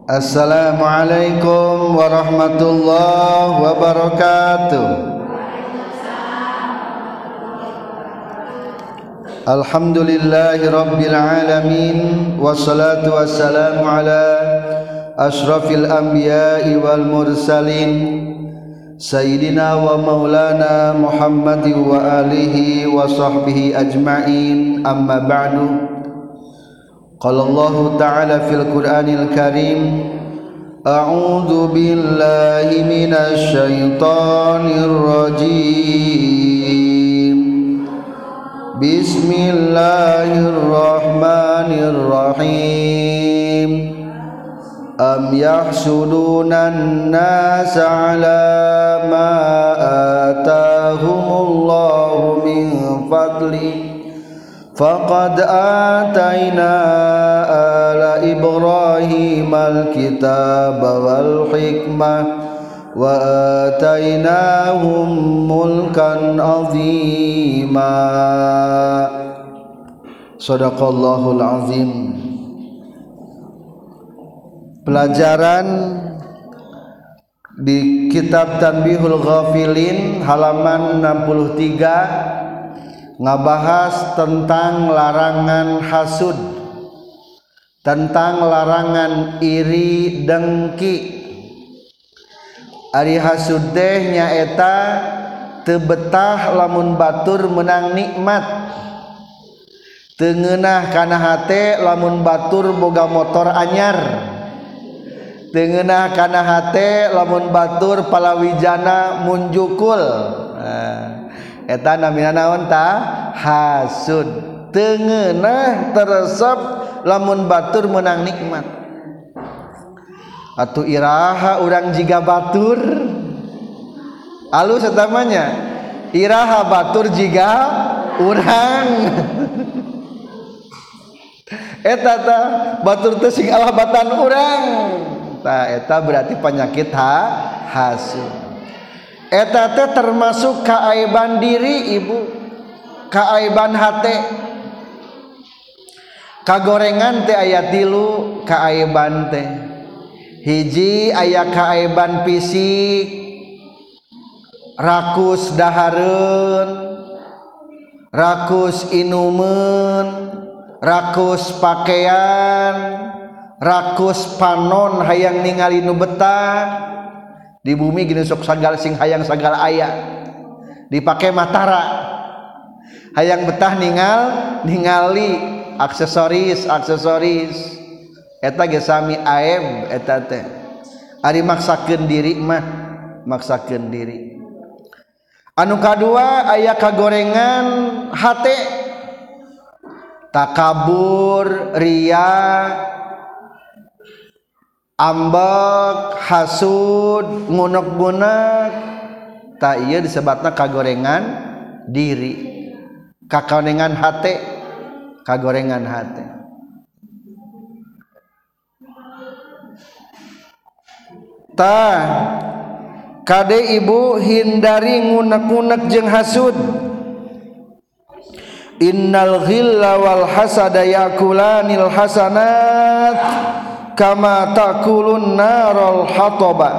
Assalamualaikum warahmatullahi wabarakatuh. Alhamdulillahi rabbil alamin, wassalatu wassalamu ala ashrafil anbiya'i wal mursalin, sayyidina wa maulana Muhammadin wa alihi wa sahbihi ajma'in. Amma ba'du. Qala Allah ta'ala fil Qur'anil Karim, a'udzu billahi minasy syaithanir rajim. Bismillahirrahmanirrahim. Am yahsudunan nasa ala ma atahumullahu min fadli faqad atayna ala Ibrahim al-kitaba wal hikmah wa atainahum mulkan azima. Shadaqallahul azim. Pelajaran di kitab Tanbihul Ghafilin halaman 63 ngabahas tentang larangan hasud, tentang larangan iri dengki. Ari hasud teh nyaeta teu betah lamun batur menang nikmat, teu ngeunah kana hate lamun batur boga motor anyar, teu ngeunah kana hate lamun batur palawijana munjukul. Eta namina naon ta? Hasud. Teu ngeunah teresep lamun batur menang nikmat. Atuh iraha urang jiga batur. Alus eta mah nya. Iraha batur jiga urang. Eta tah batur teh sing alabatan urang. Tah eta berarti penyakit hasud. Eta teh termasuk kaaiban diri ibu, kaaiban hate. Kagorengan teh aya 3 kaaiban teh. Hiji aya kaaiban fisik, rakus dahareun, rakus inumeun, rakus pakaian, rakus panon hayang ningali nu betah. Di bumi gini sok sagal sing hayang sagal aya dipake matara hayang betah ningali aksesoris eta ge sami aib. Eta teh ari maksakeun diri mah maksakeun diri. Anu kadua aya kagorengan hate, takabur, ria, ambek, hasud, ngunek-ngunek. Tak iya disebutna kagorengan diri, kagorengan hate, kagorengan hate. Tah kade ibu hindari ngunek-ngunek jeung hasud. Innal ghilla wal hasada yakulanil hasanat kama takulun narul hataba.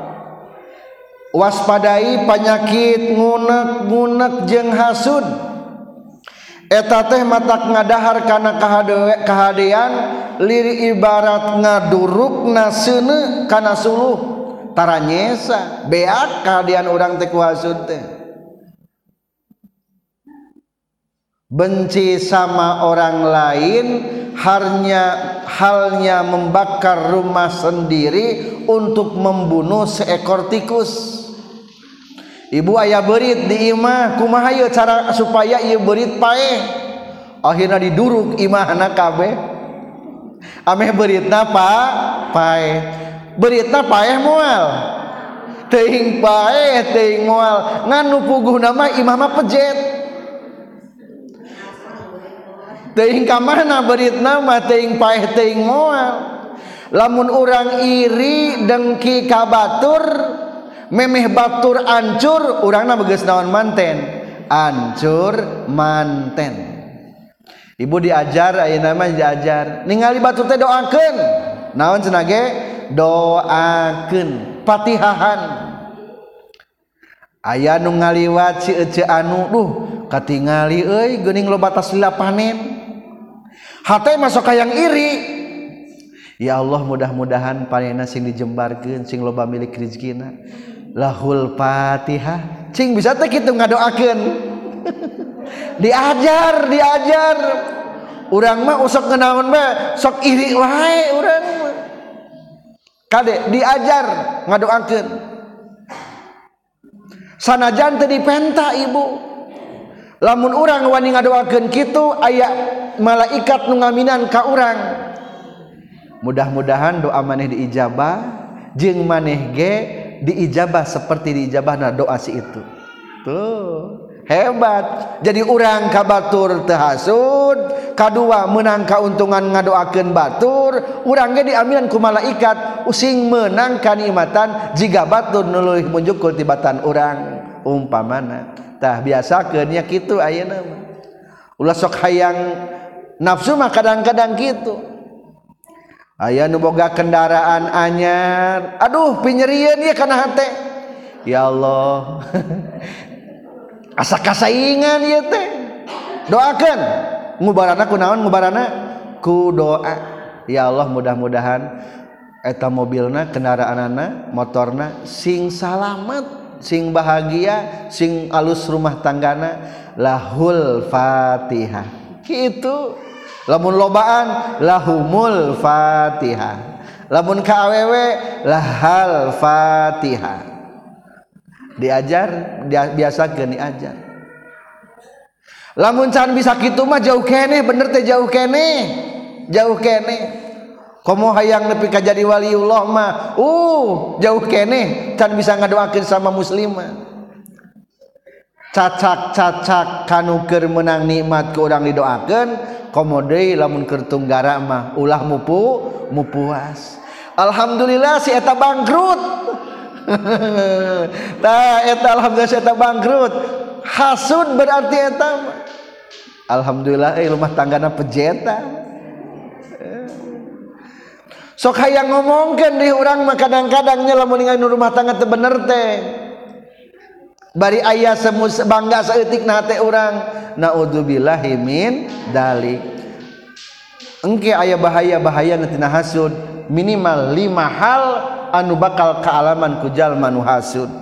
Waspadai penyakit ngunek-ngunek jeung hasud. Eta teh matak ngadahar kana kahadean liri ibarat ngadurukna seuneu kana suluh taranyesa beak kahadean urang teh ku hasud teh. Benci sama orang lain halnya membakar rumah sendiri untuk membunuh seekor tikus. Ibu aya beurit di imah, kumaha ieu cara supaya ieu beurit paeh? Akhirna diduruk imahna kabeh. Ameh beuritna paeh. Beuritna paeh moal. Teuing paeh, teuing moal. Ngan nu puguhna mah imah mah pejet. Teuing ka mana beuritna mah teuing paeh teuing moal. Lamun urang iri dengki ka batur, memeh batur ancur, urangna begeus naon manten? Ancur manten. Ibu diajar ayeuna mah diajar ningali batur teh doakeun. Naon cenah ge? doakeun Fatihahan. Aya nu ngaliwat si ece anu katingali euy geuning loba tas lila panen. Hate masuk hayang iri. Ya Allah mudah-mudahan panenna sing dijembarkeun sing loba milik rezekina. Lahul Fatihah. Cing bisa teh kitu ngadoakeun. diajar. Urang mah usok ngenaon mah sok iri wae urang mah. Kade diajar ngadoakeun. Sanajan teu dipenta ibu. Lamun urang wani ngadoakeun kitu aya malaikat nu ngaminan ka urang. Mudah-mudahan doa maneh diijabah jeung maneh ge diijabah seperti diijabahna doa si itu. Tuh, hebat. Jadi urang ka batur teu hasud, kadua meunang kauntungan ngadoakeun batur, urang ge diamilan ku malaikat using meunang kanikmatan jiga batur nu leuwih munjukul tibatan urang umpamana. Tah biasakeun nya kitu ayeuna mah. Ulah sok hayang nafsu mah kadang-kadang kitu. Aya nu boga kendaraan anyar, aduh pinyerieun ieu kana hate. Ya Allah. Asa kasaingan ieu teh. Doakeun. Ngubarana kunaon ngubarana? Ku doa. Ya Allah mudah-mudahan eta mobilna, kendaraanna, motorna sing salamet, sing bahagia, sing alus rumah tanggana. Lahul Fatihah. Kitu. Lamun lobaan lahumul Fatihah, lamun ka awewe lahal Fatihah. Diajar, biasakeun diajar. Lamun can bisa kitu mah jauh keneh, bener teh jauh keneh. Komo hayang nepi ka jadi waliullah mah jauh keneh can bisa ngadoakeun sama muslimah. Cacak kanu keur meunang nikmat ku urang didoakeun. Komo deui lamun keur tunggara mah ulah mupuas. Alhamdulillah si eta bangkrut. Tah eta alhamdulillah si eta bangkrut. Hasud berarti eta mah. Alhamdulillah rumah tanggana pejeta. Sok hayang ngomongkeun di urang mah kadang-kadang nya lamun ningali rumah tangga teu bener teh. Bari aya bangga saeutik na hate urang. Naudzubillahi min dalik. Engke aya bahaya-bahaya tina hasud minimal 5 hal anu bakal kaalaman ku jalma nu hasud.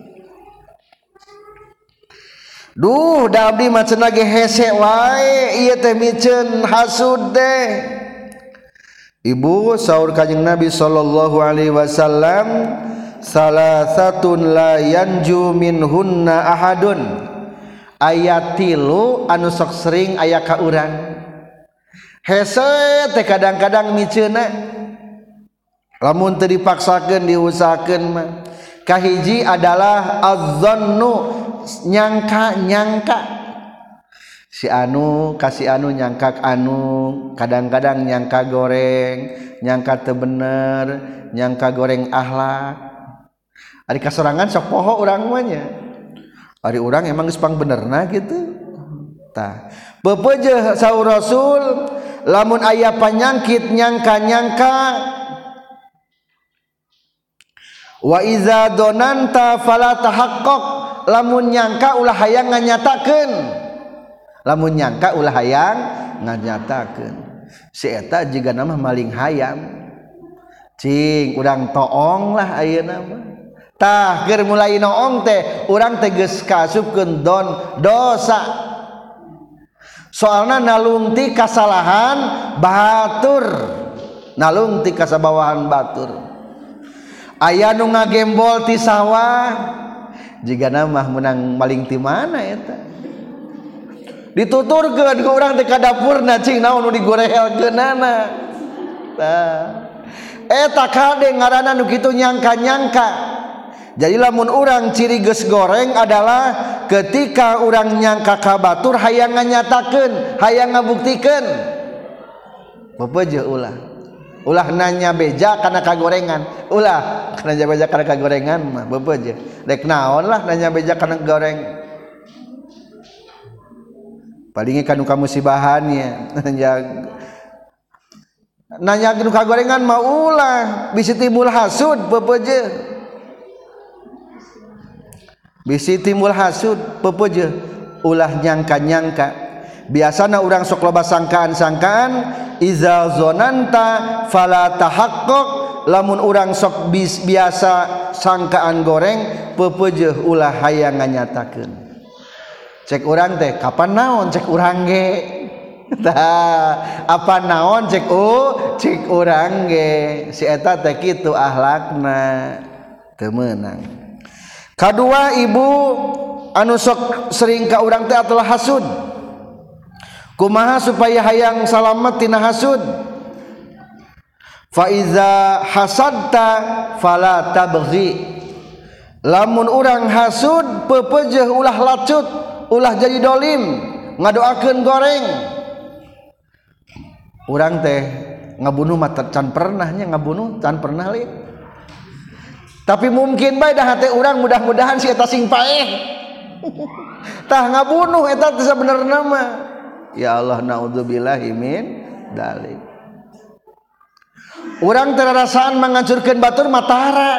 Duh da abdi mah cenah ge hese wae ieu teh miceun hasud teh. Ibu saur Kanjeng Nabi sallallahu alaihi wasallam salasatun la yanju minhunna ahadun. Ayat 3 anu sok sering aya ka urang. Hese teh kadang-kadang miceuna. Lamun teu dipaksakeun diusahakeun mah. Kahiji adalah az-zannu nyangka. Si anu kasih anu nyangka anu, kadang-kadang nyangka goreng, nyangka teu bener, nyangka goreng akhlak. Ari kasorangan sok poho urang mah nya. Ari urang emang geus pang benerna gitu. Tah, beupeujeun saur Rasul lamun aya panyangkit nyangka-nyangka wa iza donanta fala tahaqqaq, lamun nyangka ulah hayang nganyatakeun. Lamun nyangka ulah hayang nganyatakeun. Si eta jiga nama maling hayam. Cing urang toong lah ayeuna mah. Tah keur mulai noong teh urang teh geus kasupkeun dosa. Soalna nalungti kasalahan batur, nalungti kasabawahan batur. Aya nu ngagembol ti sawah, jigana mah meunang maling ti mana eta. Dituturkeun ku urang teh ka dapurna cing naon nu digorehelkeunana. Tah. Eta kade ngaranna nu kitu nyangka-nyangka. Jadi lamun urang ciri geus goreng adalah ketika urang nyangka ka batur hayang nganyatakeun, hayang ngabuktikeun. Beupeujeuh ulah nanya beja kana kagorengan, ulah nanya beja kana kagorengan mah beupeujeuh. Dek naon lah nanya beja kana goreng. Palinge kanu kamusibahan nya. nanya nu kagorengan mah ulah bisi timbul hasud pepeje bisi timbul hasud pepeje ulah nyangka-nyangka biasana urang sok loba sangkaan-sangkaan iza zonanta fala tahaqqaq lamun urang sok biasa sangkaan goreng pepeje ulah hayang nganyatakeun cek urang teh kapan naon cek urang ge tah apa naon cek urang ge si eta teh kitu akhlakna teu meunang. Kadua ibu anu sok sering ka urang teh atulah hasud. Kumaha supaya hayang salamet tina hasud? Fa iza hasadta fala tabghi. Lamun urang hasud pepeujeuh ulah lacut, ulah jadi dolim, ngadoakeun goreng. Urang teh ngabunuh mah can pernah nya ngabunuh can pernah liat. Tapi mungkin bae dah hate urang mudah-mudahan si eta sing paeh. Tah ngabunuh eta teh sabenerna mah. Ya Allah naudzubillahi min dzalik. Urang teh rasaan manghancurkeun batur mah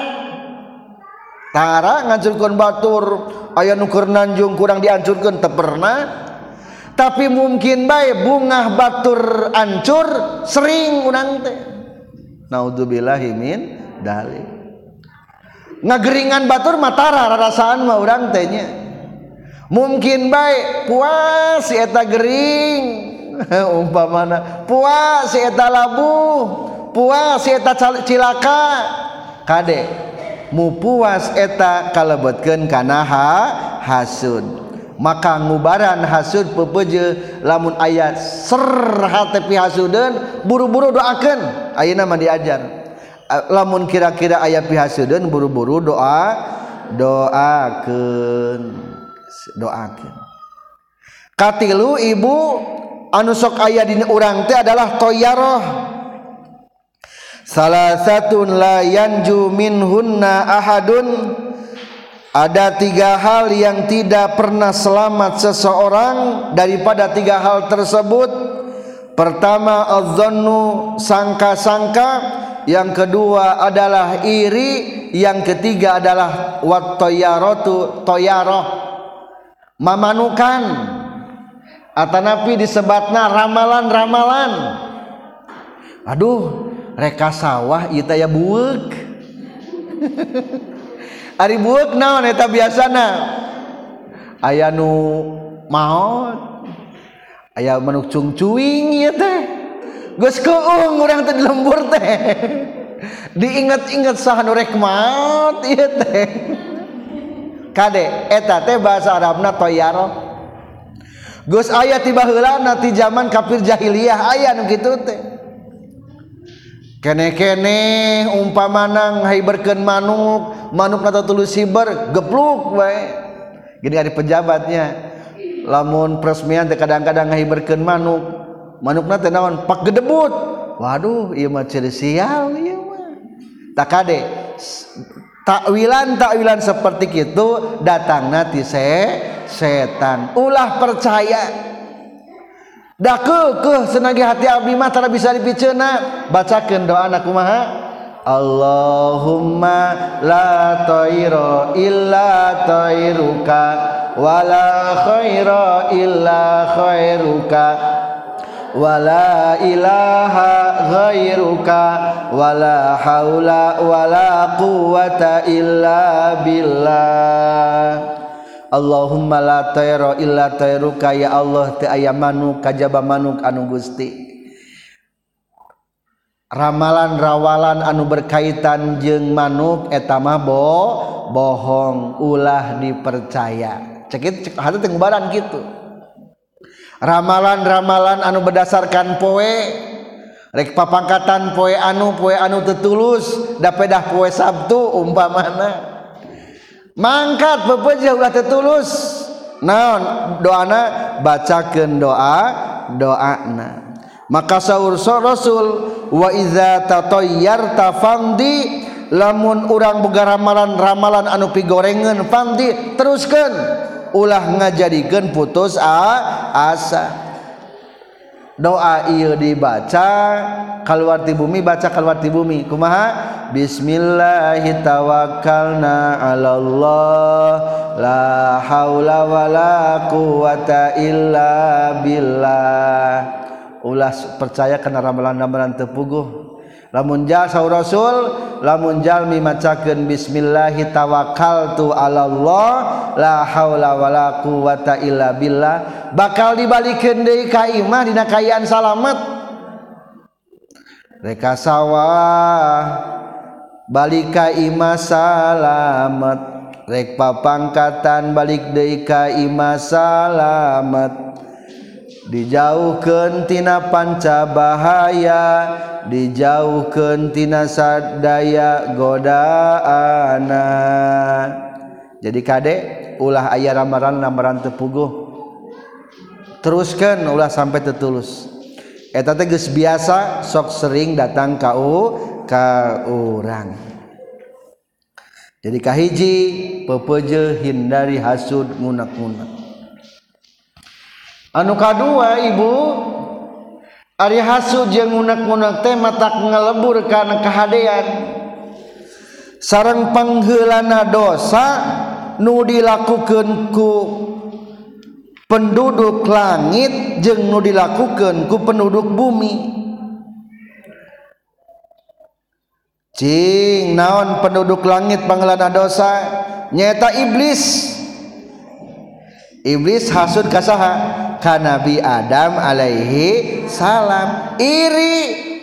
tara ngancurkeun batur aya nu keur nanjung kurang dihancurkeun teu pernah. Tapi mungkin bae bungah batur ancur sering urang teh. Naudzubillahi min dzalik. Ngageringan batur matara rasaan mah urang teh nya. Mungkin bae puas si eta gering umpamana puas si eta labuh, puas si eta cilaka. Kade mu puas eta kalebetkeun kana hasud. Maka ngubaran hasud pepeuje lamun aya ser hate pi hasudeun buru-buru doakeun ayeuna mah diajar lamun kira-kira aya pi hasudeun buru-buru doakeun katilu ibu anu sok aya dina urang teh adalah toyaroh salasatun la yanju minhunna ahadun. Ada 3 hal yang tidak pernah selamat seseorang daripada 3 hal tersebut. Pertama adz-dzannu sangka-sangka, yang kedua adalah iri, yang ketiga adalah wat-tayaratu toyaroh mamanukan atanapi disebatna ramalan-ramalan. Aduh reka sawah ieu teh ya bueuk. Ari bueuk naon eta biasana aya nu maot aya manuk cungcuing ieu teh geus keuung urang teh di lembur teh diinget-inget saha nu rek maot ieu teh kade eta teh bahasa Arabna toyaroh geus aya ti baheulana ti zaman kafir jahiliyah aya nu kitu teh kene-kene umpamana ngahibirkeun manuk atau tulus siber gepluk bae gini ada pejabatnya lamun peresmian teh kadang-kadang ngahibirkeun manukna teh naon pak gedebut waduh ieu mah ciri sial ieu mah tak kade takwilan seperti kitu datangna ti setan ulah percaya da keukeuh senagi hati abdi mah tara bisa dipiceuna bacakeun doana kumaha Allahumma la tayra illa tayruka wala khaira illa khairuka wala ilaha ghairuka wala haula wala quwata illa billah. Allahumma la tayra illa tayruka ya Allah teu aya manuk kajaba manuk anu Gusti. Ramalan-rawalan anu berkaitan jeung manuk eta mah bohong ulah dipercaya. Cek hate teh ngubaran kitu. Ramalan-ramalan anu berdasarkan poe rek papangkatan poe anu teu tulus da pedah poe Sabtu umpamana mangkat bebeujeuh ulah teu tulus naon doana bacakeun doana maka saur Rasul wa iza tatayyarta fandi lamun urang boga ramalan anu pigorengeun fandi teruskeun ulah ngajadikeun putus asa doa ieu dibaca keluar ti bumi, baca keluar ti bumi kumaha? Bismillahi tawakkalna 'alallah la haula wala quwata illa billah. Ulah percaya kana ramalan-ramalan teu puguh. Lamun jal saur Rasul, lamun jalmi macakeun bismillahi tawakkaltu 'alallah la haula wala quwata illa billah, bakal dibalikeun deui ka imah dina kaayaan salamet. Reka sawah balik ka imah salamet, rek papangkatan balik deui ka imah salamet, dijauhkeun tina panca bahaya, dijauhkeun tina sadaya godaana. Jadi kade ulah aya ramalan teu puguh, teruskeun ulah sampai tetulus. Eta teh geus biasa sok sering datang ka urang. Jadi kahiji pepeuje hindari hasud ngunak-ngunak. Anu kadua ibu, ari hasud jeung ngunak-ngunak teh matak ngalebur kana kahadean sareng pangheulana dosa nu dilakukeun ku penduduk langit jeung nu dilakukeun ku penduduk bumi. Cing naon penduduk langit pangheulana dosa? Nyaeta iblis. Iblis hasud ka saha? Ka Nabi Adam alaihi salam, iri.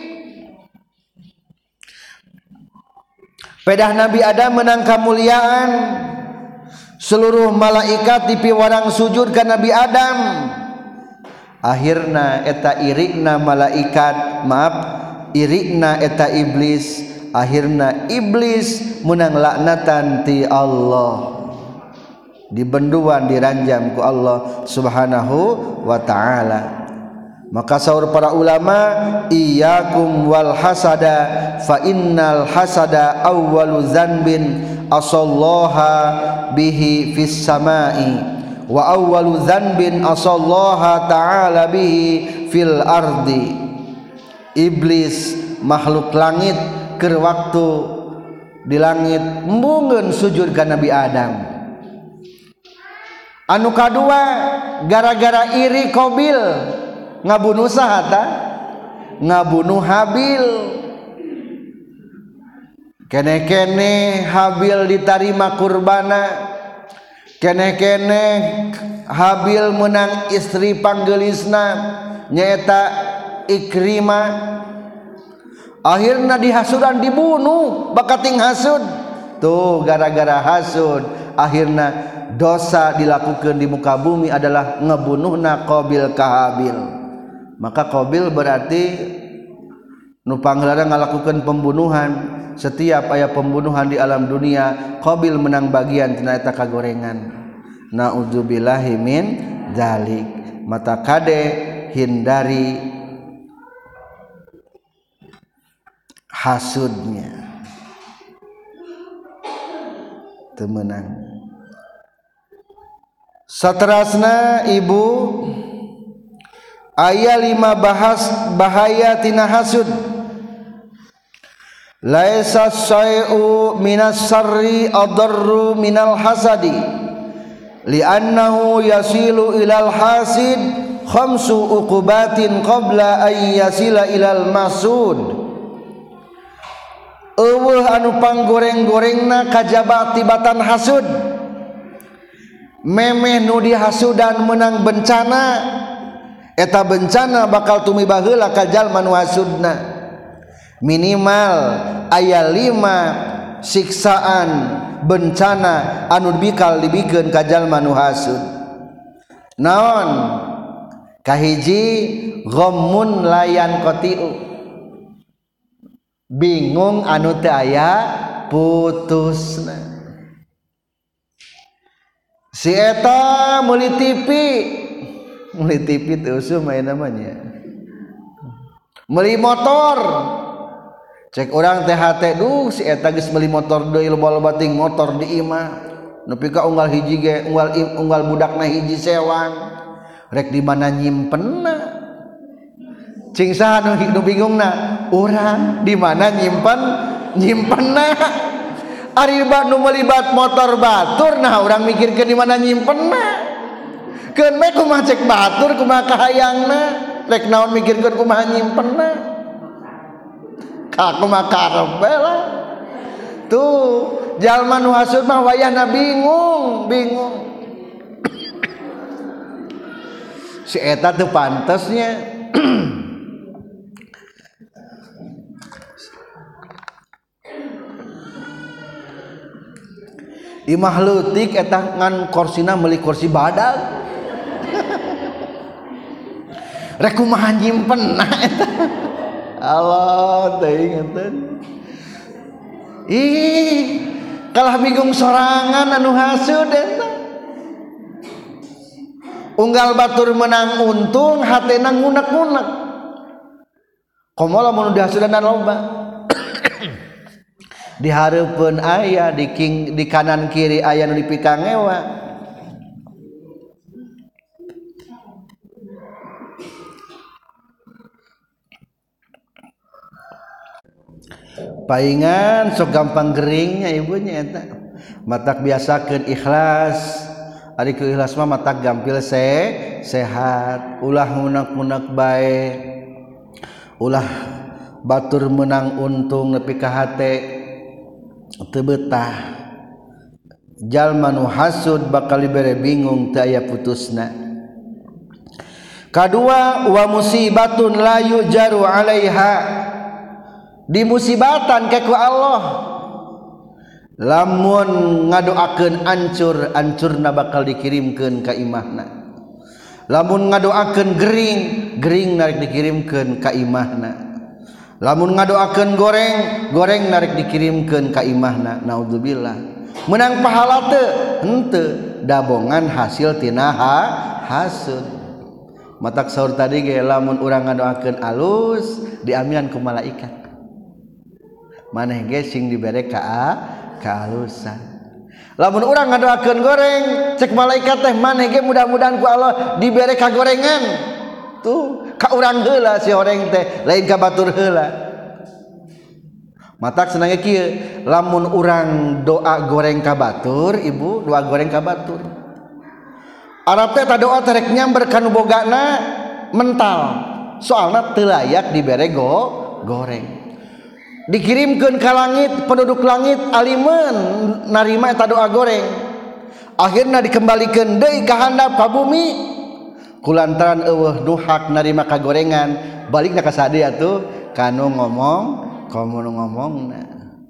Pedah Nabi Adam menang kamuliaan, seluruh malaikat dipiwarang sujud ka Nabi Adam. Akhirna eta irikna malaikat, maaf, irikna eta iblis. Akhirna iblis menang laknatan ti Allah, dibenduan diranjam ku Allah subhanahu wa ta'ala. Maka saur para ulama, iyyakum wal hasada fa innal hasada awwalu dzanbin asallaha bihi fis samai wa awwalu dzanbin asallaha ta'ala bihi fil ardi. Iblis makhluk langit keur waktu di langit munggeun sujud ka Nabi Adam. Anu kadua gara-gara iri Qabil ngabunuh saha ta? Ngabunuh Habil. Kene-kene Habil ditarima kurbana, kene-kene Habil menang istri panggeulisna nyaeta Ikrimah. Akhirna dihasudan dibunuh bakating hasud. Tuh gara-gara hasud akhirna dosa dilakukan di muka bumi adalah ngebunuhna Qabil ka Habil. Maka Qabil berarti nu pangheula ngalakukeun pembunuhan. Setiap aya pembunuhan di alam dunia, Qabil menang bagian tina eta kagorengan. Naudzubillahi min dzalik. Mata kade hindari hasudnya, temenang. Saterasna ibu, aya 5 bahaya tina hasud. Laisa syai'u minas sarri adarru minal hasadi li'annahu yasilu ilal hasid khamsu uqubatin qabla ay yasila ilal masud. Eueuh anu panggoreng-gorengna kajaba tibatan hasud. Memeh nu dihasudan menang bencana, eta bencana bakal tumibah heula ka jalma nu hasudna. Minimal aya 5 siksaan bencana anu bikal dibikeun ka jalma nu hasud. Naon? Kahiji ghammun layan qatiu, bingung anu teu aya putusna. Si eta meuli TV teu usum aya namanya. Meuli motor. Cek urang THT, duh si eta geus meuli motor deui loba-loba ting motor di imah. Nepi ka unggal hiji ge unggal budakna hiji sewang. Rek di mana nyimpenna? cing saha nu bingungna urang di mana nyimpenna ari nu melibat motor batur nah urang mikirkeun di mana nyimpenna keun meh kumaha cek batur kumaha kahayangna rek naon mikirkeun kumaha nyimpenna kumaha karepe lah tuh jalma nu hasud mah wayahna bingung si eta teu pantesnya imah leutik eta ngan korsina meuli kursi badag rek kumaha nyimpenna eta Allah teuing enten kalah bingung sorangan anu hasud eta unggal batur menang untung hatena ngunek-ngunek komo lamun dihasudan loba di hareupeun aya di kanan kiri aya nu dipikangewa paingan sok gampang geringnya ibunya eta matak biasakeun ikhlas ari ku ikhlas mah matak gampil sehat ulah ngunek-ngunek bae ulah batur menang untung nepi ka hate teu betah jalma nu hasud bakal dibere bingung teu aya putusna. Kadua wa musibatun la yujaru alaiha dimusibatan ke ku Allah lamun ngadoakeun ancurna bakal dikirimkeun ka imahna lamun ngadoakeun gering narik dikirimkeun ka imahna lamun ngadoakeun goreng narik dikirimkeun ka imahna naudzubillah menang pahala teu henteu dabongan hasil tina hasud matak saur tadi ge lamun urang ngadoakeun alus diamian ku malaikat maneh ge sing dibere ka alusan lamun urang ngadoakeun goreng cek malaikat teh maneh ge mudah-mudahan ku Allah dibere ka gorengan tuh ka urang heula si horeng teh lain ka batur heula matak senangnya kieu lamun urang doa goreng ka batur ibu doa goreng ka batur Arab teh ta doa terek nyamber ka nu bogana mental soalna teu layak dibere goreng dikirimkeun ka langit penduduk langit alimeun narima eta doa goreng akhirna dikembalikeun deui ka handap ka bumi kulantaran eueuh duhak narima kagorengan balikna ka sadia tuh kanu ngomongna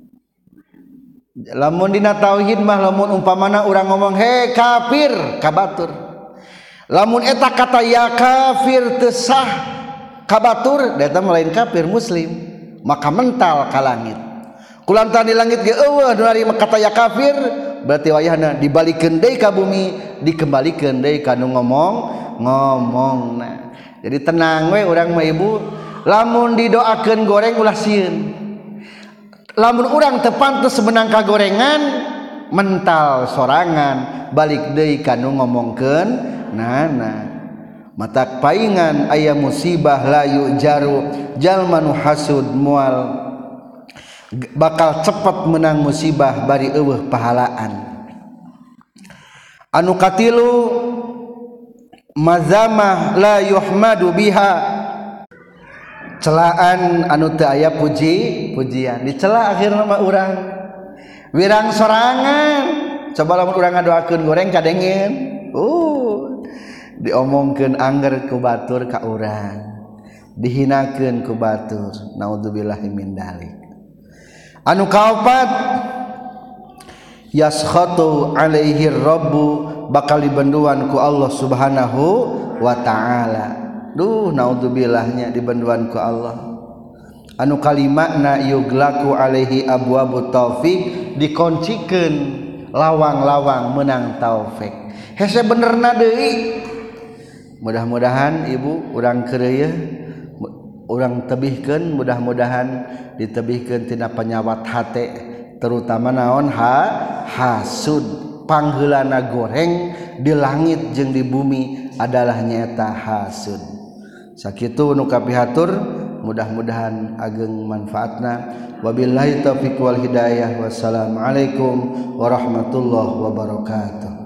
lamun dina tauhid mah lamun umpamana urang ngomong he kafir ka batur lamun eta kata ya kafir teu sah ka batur eta lain kafir muslim maka mental ka langit kulantaran di langit ge eueuh nu narima kata ya kafir berarti wayahna dibalikeun deui ka bumi dikembalikeun deui ka nu ngomongna jadi tenang we urang mah ibu lamun didoakeun goreng ulah sieun lamun urang teu pantes menang ka gorengan mental sorangan balik deui ka nu ngomongkeun nana matak paingan aya musibah la yujaru jalma nu hasud moal bakal cepet menang musibah bari eueuh pahalaan anu katilu mazamah la yuhmadu biha celaan anu teu aya pujian dicela akhirna mah urang wirang sorangan coba lamun urang ngadoakeun goreng kadengeun diomongkeun angger ku batur ka urang dihinakeun ku batur naudzubillahi min dzalik anu kaopat yaskhatu alaihi rabbu bakal dibenduan ku Allah subhanahu wa ta'ala naudzubillah dibenduan ku Allah anu kalimatna yuglaku alaihi abwabu taufik dikoncikeun lawang-lawang menang taufik hese benerna deui mudah-mudahan ibu urang keureuy urang tebihkeun mudah-mudahan ditebihkeun tina penyawat hate terutama naon hasud pangheulana goreng di langit jeung di bumi adalah nyaeta hasud sakitu nu kapihatur mudah-mudahan ageng manfaatna. Wabillahi taufiq wal hidayah. Wassalamualaikum warahmatullahi wabarakatuh.